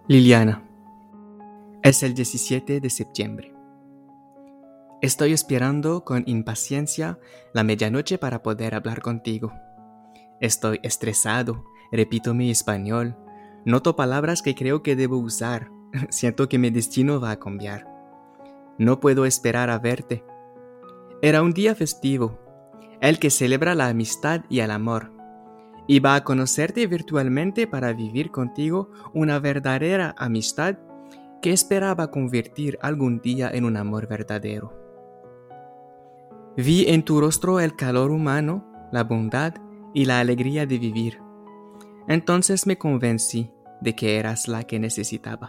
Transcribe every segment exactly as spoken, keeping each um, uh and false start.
Liliana, es el diecisiete de septiembre. Estoy esperando con impaciencia la medianoche para poder hablar contigo. Estoy estresado, repito mi español, noto palabras que creo que debo usar, siento que mi destino va a cambiar. No puedo esperar a verte. Era un día festivo, el que celebra la amistad y el amor. Iba a conocerte virtualmente para vivir contigo una verdadera amistad que esperaba convertir algún día en un amor verdadero. Vi en tu rostro el calor humano, la bondad y la alegría de vivir. Entonces me convencí de que eras la que necesitaba.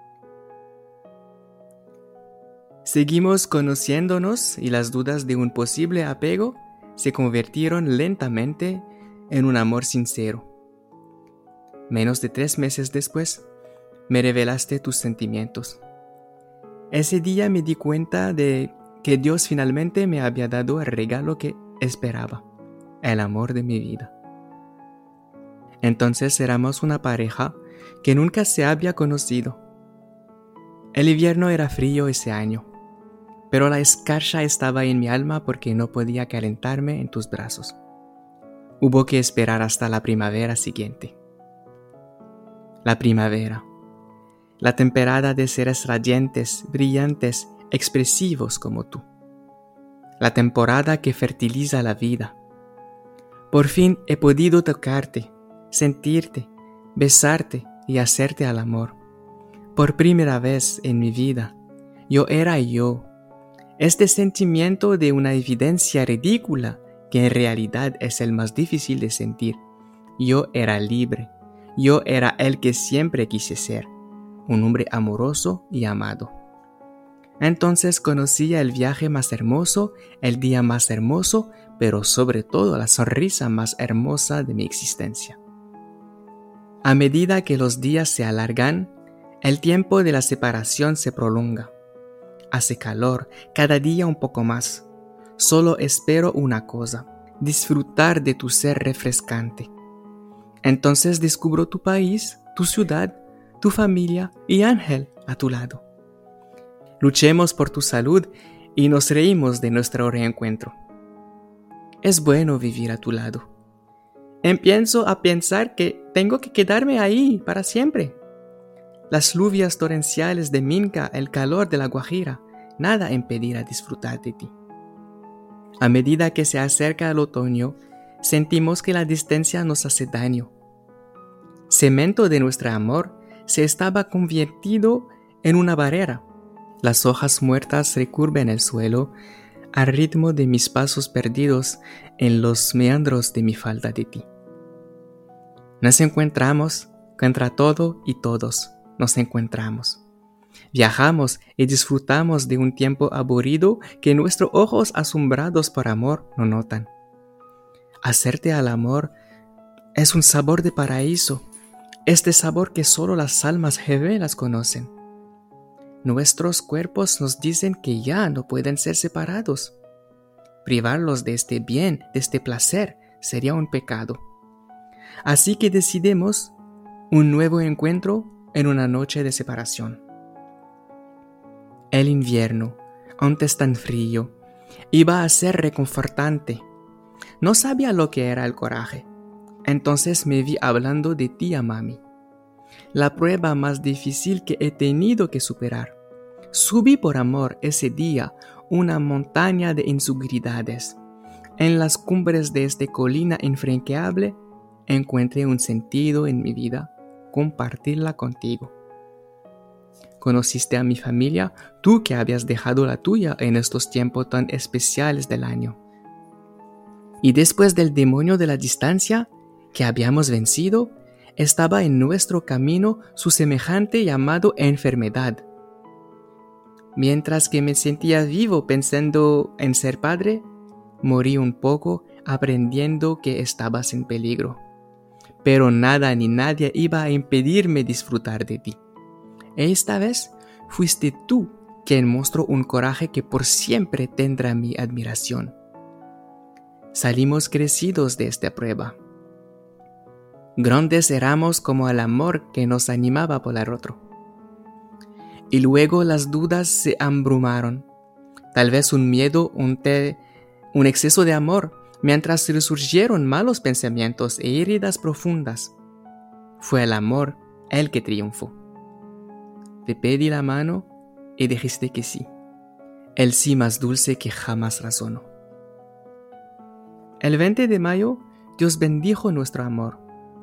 Seguimos conociéndonos y las dudas de un posible apego se convirtieron lentamente en un amor sincero. Menos de tres meses después, me revelaste tus sentimientos. Ese día me di cuenta de que Dios finalmente me había dado el regalo que esperaba, el amor de mi vida. Entonces éramos una pareja que nunca se había conocido. El invierno era frío ese año, pero la escarcha estaba en mi alma porque no podía calentarme en tus brazos. Hubo que esperar hasta la primavera siguiente. La primavera. La temporada de seres radiantes, brillantes, expresivos como tú. La temporada que fertiliza la vida. Por fin he podido tocarte, sentirte, besarte y hacerte al amor. Por primera vez en mi vida, yo era yo. Este sentimiento de una evidencia ridícula que en realidad es el más difícil de sentir. Yo era libre. Yo era el que siempre quise ser, un hombre amoroso y amado. Entonces conocía el viaje más hermoso, el día más hermoso, pero sobre todo la sonrisa más hermosa de mi existencia. A medida que los días se alargan, el tiempo de la separación se prolonga. Hace calor, cada día un poco más. Solo espero una cosa, disfrutar de tu ser refrescante. Entonces descubro tu país, tu ciudad, tu familia y Ángel a tu lado. Luchemos por tu salud y nos reímos de nuestro reencuentro. Es bueno vivir a tu lado. Empiezo a pensar que tengo que quedarme ahí para siempre. Las lluvias torrenciales de Minca, el calor de la Guajira, nada impedirá disfrutar de ti. A medida que se acerca el otoño, sentimos que la distancia nos hace daño. Cemento de nuestro amor se estaba convertido en una barrera. Las hojas muertas recurven el suelo al ritmo de mis pasos perdidos en los meandros de mi falta de ti. Nos encontramos contra todo y todos. Nos encontramos. Viajamos y disfrutamos de un tiempo aburrido que nuestros ojos asombrados por amor no notan. Hacerte al amor es un sabor de paraíso, este sabor que solo las almas gemelas conocen. Nuestros cuerpos nos dicen que ya no pueden ser separados. Privarlos de este bien, de este placer, sería un pecado. Así que decidimos un nuevo encuentro en una noche de separación. El invierno, antes tan frío, iba a ser reconfortante. No sabía lo que era el coraje. Entonces me vi hablando de ti a mami. La prueba más difícil que he tenido que superar. Subí por amor ese día una montaña de inseguridades. En las cumbres de esta colina infranqueable encontré un sentido en mi vida, compartirla contigo. Conociste a mi familia, tú que habías dejado la tuya en estos tiempos tan especiales del año. Y después del demonio de la distancia que habíamos vencido, estaba en nuestro camino su semejante llamado enfermedad. Mientras que me sentía vivo pensando en ser padre, morí un poco aprendiendo que estabas en peligro. Pero nada ni nadie iba a impedirme disfrutar de ti. Esta vez fuiste tú quien mostró un coraje que por siempre tendrá mi admiración. Salimos crecidos de esta prueba. Grandes éramos como el amor que nos animaba por el otro. y luego las dudas se abrumaron. Tal vez un miedo, un, te, un exceso de amor, mientras resurgieron malos pensamientos e heridas profundas. Fue el amor el que triunfó. Te pedí la mano y dijiste que sí. El sí más dulce que jamás razonó. El veinte de mayo, Dios bendijo nuestro amor.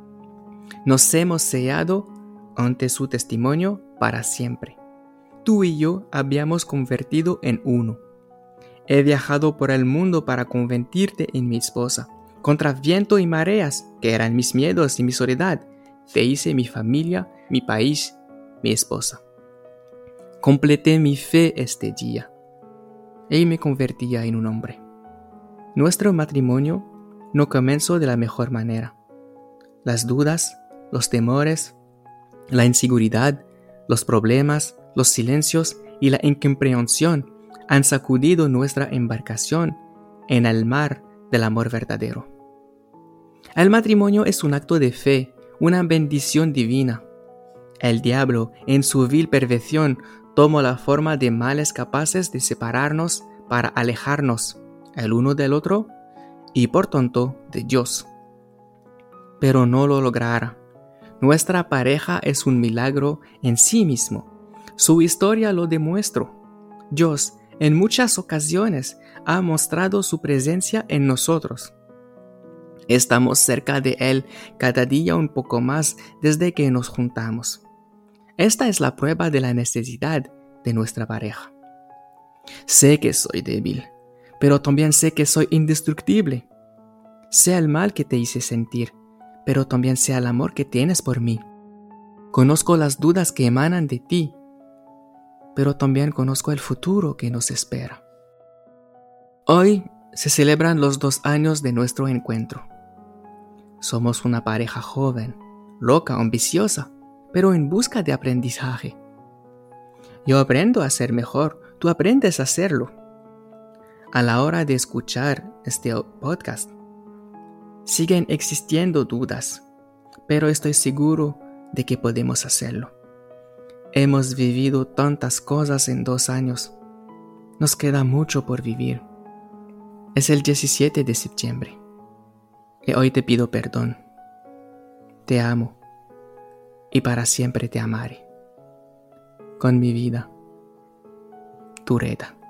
Nos hemos sellado ante su testimonio para siempre. Tú y yo habíamos convertido en uno. He viajado por el mundo para convertirte en mi esposa. Contra viento y mareas, que eran mis miedos y mi soledad, te hice mi familia, mi país, mi esposa. Completé mi fe este día y me convertía en un hombre. Nuestro matrimonio no comenzó de la mejor manera. Las dudas, los temores, la inseguridad, los problemas, los silencios y la incomprensión han sacudido nuestra embarcación en el mar del amor verdadero. El matrimonio es un acto de fe, una bendición divina. El diablo, en su vil perversión, tomó la forma de males capaces de separarnos para alejarnos el uno del otro y por tanto de Dios. Pero no lo logrará. Nuestra pareja es un milagro en sí mismo. Su historia lo demuestra. Dios, en muchas ocasiones, ha mostrado su presencia en nosotros. Estamos cerca de Él cada día un poco más desde que nos juntamos. Esta es la prueba de la necesidad de nuestra pareja. Sé que soy débil, pero también sé que soy indestructible. Sé el mal que te hice sentir, pero también sé el amor que tienes por mí. Conozco las dudas que emanan de ti, pero también conozco el futuro que nos espera. Hoy se celebran los dos años de nuestro encuentro. Somos una pareja joven, loca, ambiciosa, pero en busca de aprendizaje. Yo aprendo a ser mejor, tú aprendes a hacerlo. A la hora de escuchar este podcast, siguen existiendo dudas, pero estoy seguro de que podemos hacerlo. Hemos vivido tantas cosas en dos años. Nos queda mucho por vivir. Es el diecisiete de septiembre. Y hoy te pido perdón. Te amo. Y para siempre te amaré. Con mi vida. Tu Reda.